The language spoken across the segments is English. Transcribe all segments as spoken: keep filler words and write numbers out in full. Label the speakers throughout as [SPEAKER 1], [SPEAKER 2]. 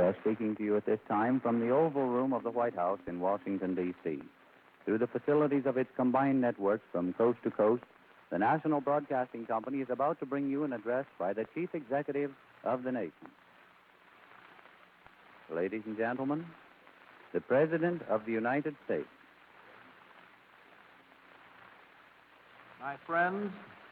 [SPEAKER 1] are speaking to you at this time from the Oval Room of the White House in Washington, D C Through the facilities of its combined networks from coast to coast, the National Broadcasting Company is about to bring you an address by the Chief Executive of the nation. Ladies and gentlemen, the President of the United States.
[SPEAKER 2] My friends,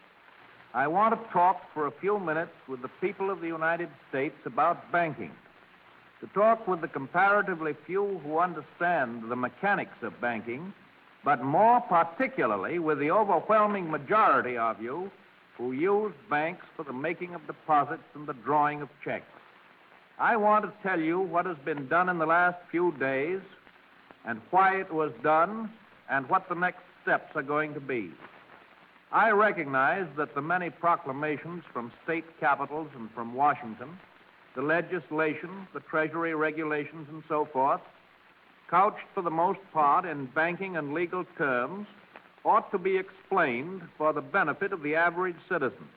[SPEAKER 2] I want to talk for a few minutes with the people of the United States about banking, to talk with the comparatively few who understand the mechanics of banking, but more particularly with the overwhelming majority of you who use banks for the making of deposits and the drawing of checks. I want to tell you what has been done in the last few days and why it was done and what the next steps are going to be. I recognize that the many proclamations from state capitals and from Washington, the legislation, the Treasury regulations, and so forth, couched for the most part in banking and legal terms, ought to be explained for the benefit of the average citizen.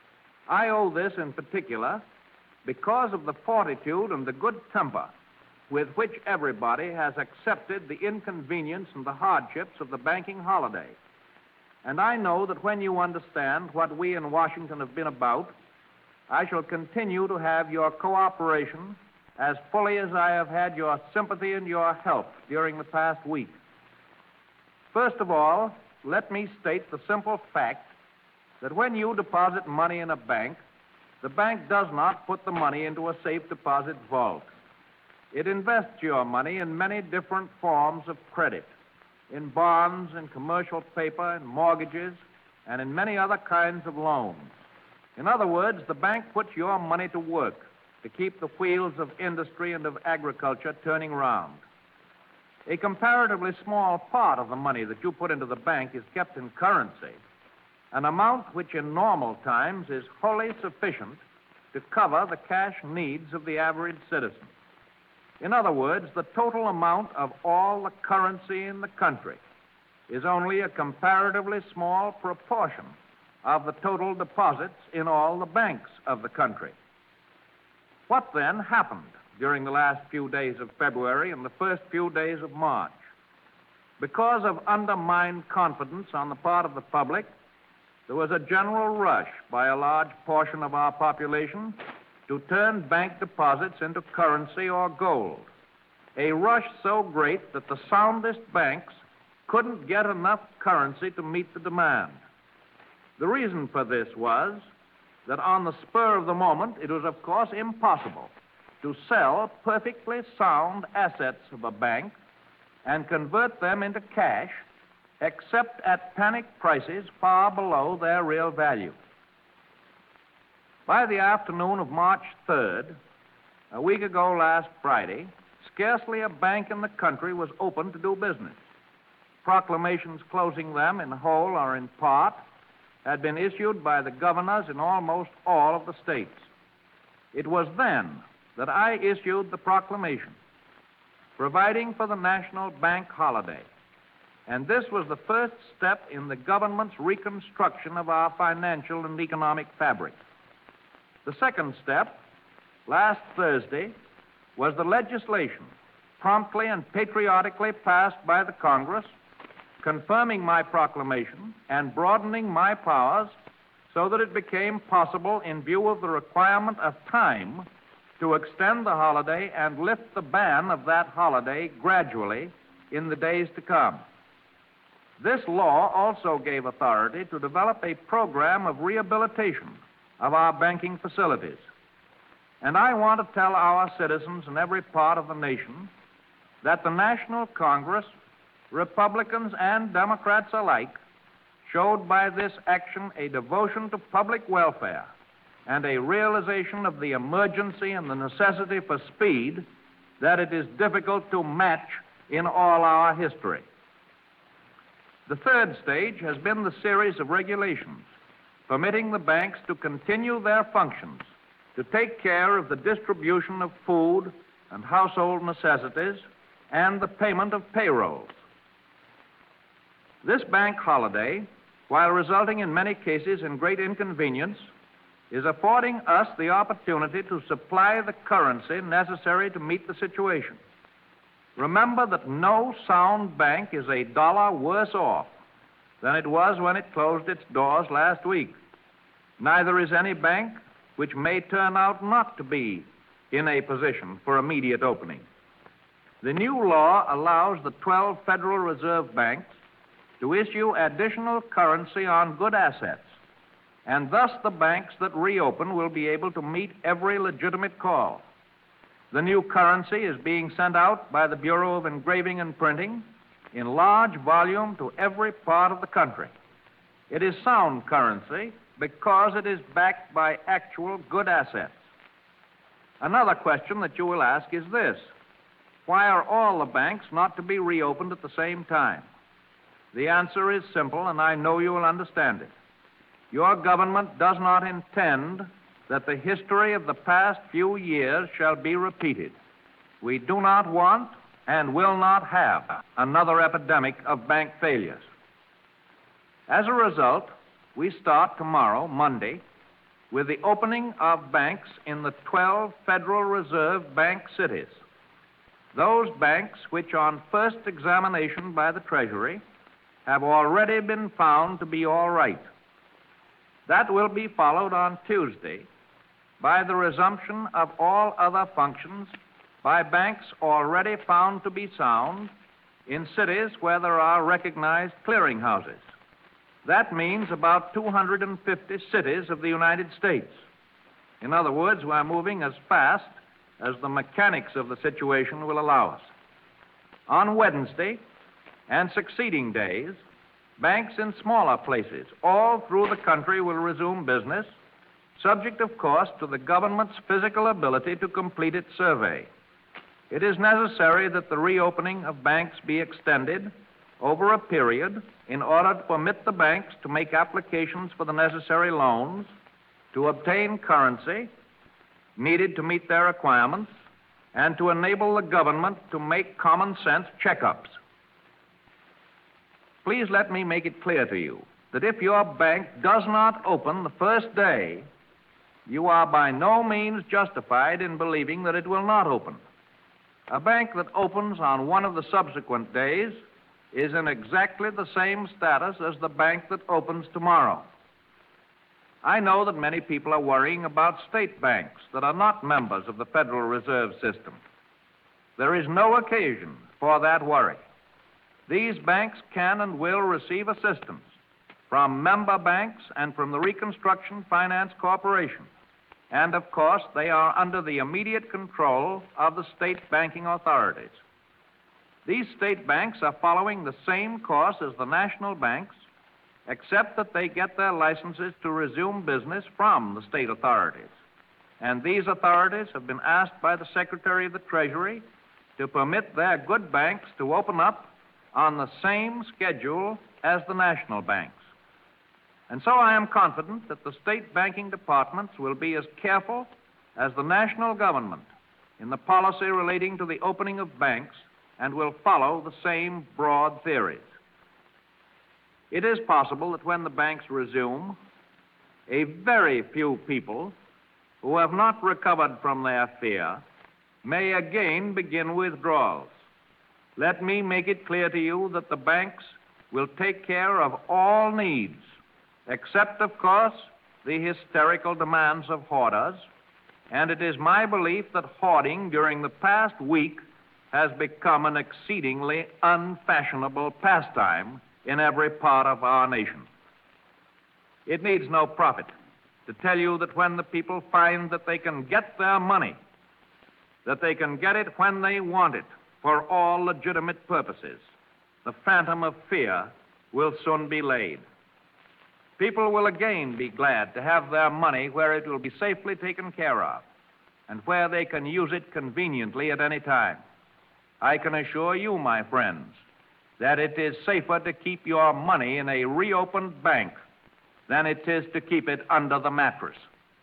[SPEAKER 2] I owe this in particular because of the fortitude and the good temper with which everybody has accepted the inconvenience and the hardships of the banking holiday. And I know that when you understand what we in Washington have been about, I shall continue to have your cooperation as fully as I have had your sympathy and your help during the past week. First of all, let me state the simple fact that when you deposit money in a bank, the bank does not put the money into a safe deposit vault. It invests your money in many different forms of credit, in bonds, in commercial paper, in mortgages, and in many other kinds of loans. In other words, the bank puts your money to work to keep the wheels of industry and of agriculture turning round. A comparatively small part of the money that you put into the bank is kept in currency, an amount which in normal times is wholly sufficient to cover the cash needs of the average citizen. In other words, the total amount of all the currency in the country is only a comparatively small proportion of the total deposits in all the banks of the country. What then happened during the last few days of February and the first few days of March? Because of undermined confidence on the part of the public, there was a general rush by a large portion of our population to turn bank deposits into currency or gold, a rush so great that the soundest banks couldn't get enough currency to meet the demand. The reason for this was that on the spur of the moment, it was, of course, impossible to sell perfectly sound assets of a bank and convert them into cash except at panic prices far below their real value. By the afternoon of March third, a week ago last Friday, scarcely a bank in the country was open to do business. Proclamations closing them in whole or in part had been issued by the governors in almost all of the states. It was then that I issued the proclamation providing for the national bank holiday, and this was the first step in the government's reconstruction of our financial and economic fabric. The second step, last Thursday, was the legislation promptly and patriotically passed by the Congress, confirming my proclamation and broadening my powers so that it became possible, in view of the requirement of time, to extend the holiday and lift the ban of that holiday gradually in the days to come. This law also gave authority to develop a program of rehabilitation of our banking facilities. And I want to tell our citizens in every part of the nation that the National Congress, Republicans and Democrats alike, showed by this action a devotion to public welfare and a realization of the emergency and the necessity for speed that it is difficult to match in all our history. The third stage has been the series of regulations permitting the banks to continue their functions to take care of the distribution of food and household necessities and the payment of payrolls. This bank holiday, while resulting in many cases in great inconvenience, is affording us the opportunity to supply the currency necessary to meet the situation. Remember that no sound bank is a dollar worse off than it was when it closed its doors last week. Neither is any bank which may turn out not to be in a position for immediate opening. The new law allows the twelve Federal Reserve banks to issue additional currency on good assets, and thus the banks that reopen will be able to meet every legitimate call. The new currency is being sent out by the Bureau of Engraving and Printing in large volume to every part of the country. It is sound currency because it is backed by actual good assets. Another question that you will ask is this: why are all the banks not to be reopened at the same time? The answer is simple, and I know you will understand it. Your government does not intend that the history of the past few years shall be repeated. We do not want and will not have another epidemic of bank failures. As a result, we start tomorrow, Monday, with the opening of banks in the twelve Federal Reserve bank cities. Those banks which on first examination by the Treasury have already been found to be all right. That will be followed on Tuesday by the resumption of all other functions by banks already found to be sound in cities where there are recognized clearinghouses. That means about two hundred fifty cities of the United States. In other words, we're moving as fast as the mechanics of the situation will allow us. On Wednesday and succeeding days, banks in smaller places all through the country will resume business, subject, of course, to the government's physical ability to complete its survey. It is necessary that the reopening of banks be extended over a period in order to permit the banks to make applications for the necessary loans, to obtain currency needed to meet their requirements, and to enable the government to make common sense checkups. Please let me make it clear to you that if your bank does not open the first day, you are by no means justified in believing that it will not open. A bank that opens on one of the subsequent days is in exactly the same status as the bank that opens tomorrow. I know that many people are worrying about state banks that are not members of the Federal Reserve System. There is no occasion for that worry. These banks can and will receive assistance from member banks and from the Reconstruction Finance Corporation. And, of course, they are under the immediate control of the state banking authorities. These state banks are following the same course as the national banks, except that they get their licenses to resume business from the state authorities. And these authorities have been asked by the Secretary of the Treasury to permit their good banks to open up on the same schedule as the national banks. And so I am confident that the state banking departments will be as careful as the national government in the policy relating to the opening of banks and will follow the same broad theories. It is possible that when the banks resume, a very few people who have not recovered from their fear may again begin withdrawals. Let me make it clear to you that the banks will take care of all needs, except, of course, the hysterical demands of hoarders, and it is my belief that hoarding during the past week has become an exceedingly unfashionable pastime in every part of our nation. It needs no prophet to tell you that when the people find that they can get their money, that they can get it when they want it for all legitimate purposes, the phantom of fear will soon be laid. People will again be glad to have their money where it will be safely taken care of and where they can use it conveniently at any time. I can assure you, my friends, that it is safer to keep your money in a reopened bank than it is to keep it under the mattress.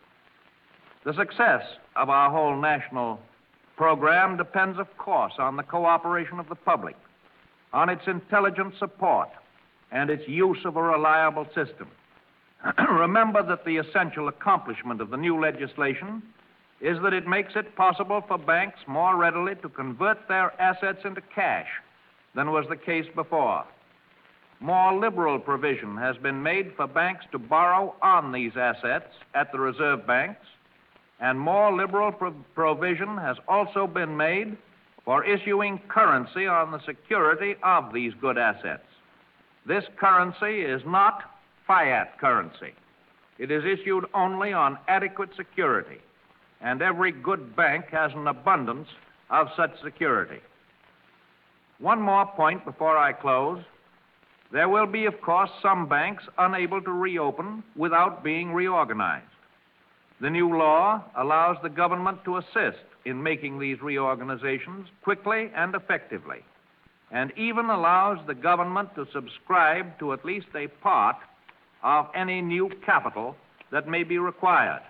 [SPEAKER 2] The success of our whole national program depends, of course, on the cooperation of the public, on its intelligent support, and its use of a reliable system. Remember that the essential accomplishment of the new legislation is that it makes it possible for banks more readily to convert their assets into cash than was the case before. More liberal provision has been made for banks to borrow on these assets at the reserve banks, and more liberal pro- provision has also been made for issuing currency on the security of these good assets. This currency is not fiat currency. It is issued only on adequate security, and every good bank has an abundance of such security. One more point before I close. There will be, of course, some banks unable to reopen without being reorganized. The new law allows the government to assist in making these reorganizations quickly and effectively, and even allows the government to subscribe to at least a part of any new capital that may be required.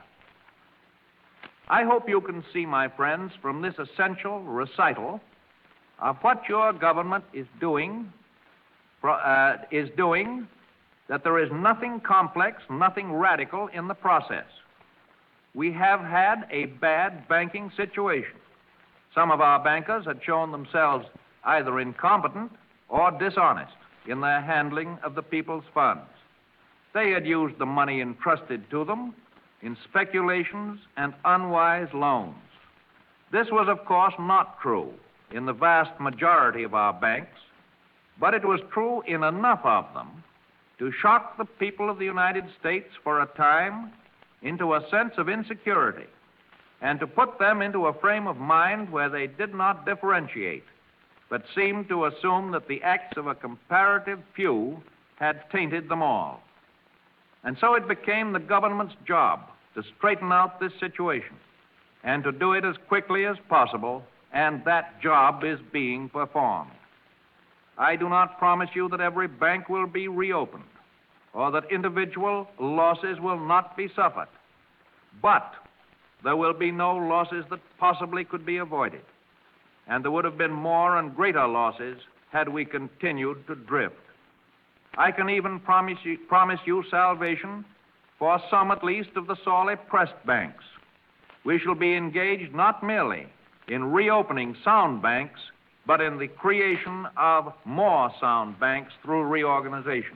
[SPEAKER 2] I hope you can see, my friends, from this essential recital of what your government is doing, uh, is doing, that there is nothing complex, nothing radical in the process. We have had a bad banking situation. Some of our bankers had shown themselves either incompetent or dishonest in their handling of the people's funds. They had used the money entrusted to them in speculations and unwise loans. This was, of course, not true in the vast majority of our banks, but it was true in enough of them to shock the people of the United States for a time into a sense of insecurity and to put them into a frame of mind where they did not differentiate, but seemed to assume that the acts of a comparative few had tainted them all. And so it became the government's job to straighten out this situation and to do it as quickly as possible, and that job is being performed. I do not promise you that every bank will be reopened or that individual losses will not be suffered, but there will be no losses that possibly could be avoided, and there would have been more and greater losses had we continued to drift. I can even promise you, promise you salvation for some, at least, of the sorely pressed banks. We shall be engaged not merely in reopening sound banks, but in the creation of more sound banks through reorganization.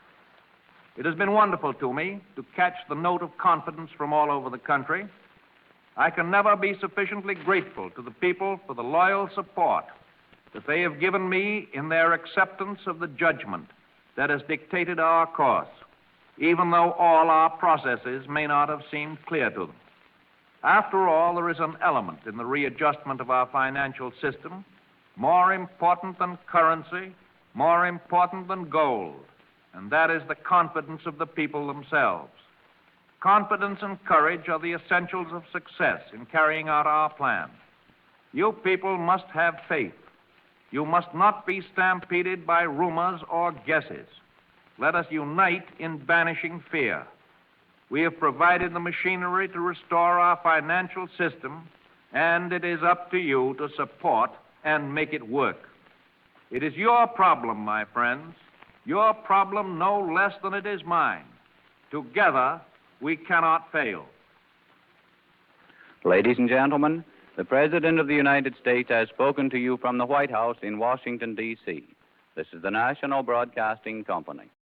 [SPEAKER 2] It has been wonderful to me to catch the note of confidence from all over the country. I can never be sufficiently grateful to the people for the loyal support that they have given me in their acceptance of the judgment that has dictated our course, even though all our processes may not have seemed clear to them. After all, there is an element in the readjustment of our financial system more important than currency, more important than gold, and that is the confidence of the people themselves. Confidence and courage are the essentials of success in carrying out our plan. You people must have faith. You must not be stampeded by rumors or guesses. Let us unite in banishing fear. We have provided the machinery to restore our financial system, and it is up to you to support and make it work. It is your problem, my friends, your problem no less than it is mine. Together, we cannot fail.
[SPEAKER 1] Ladies and gentlemen, the President of the United States has spoken to you from the White House in Washington, D C This is the National Broadcasting Company.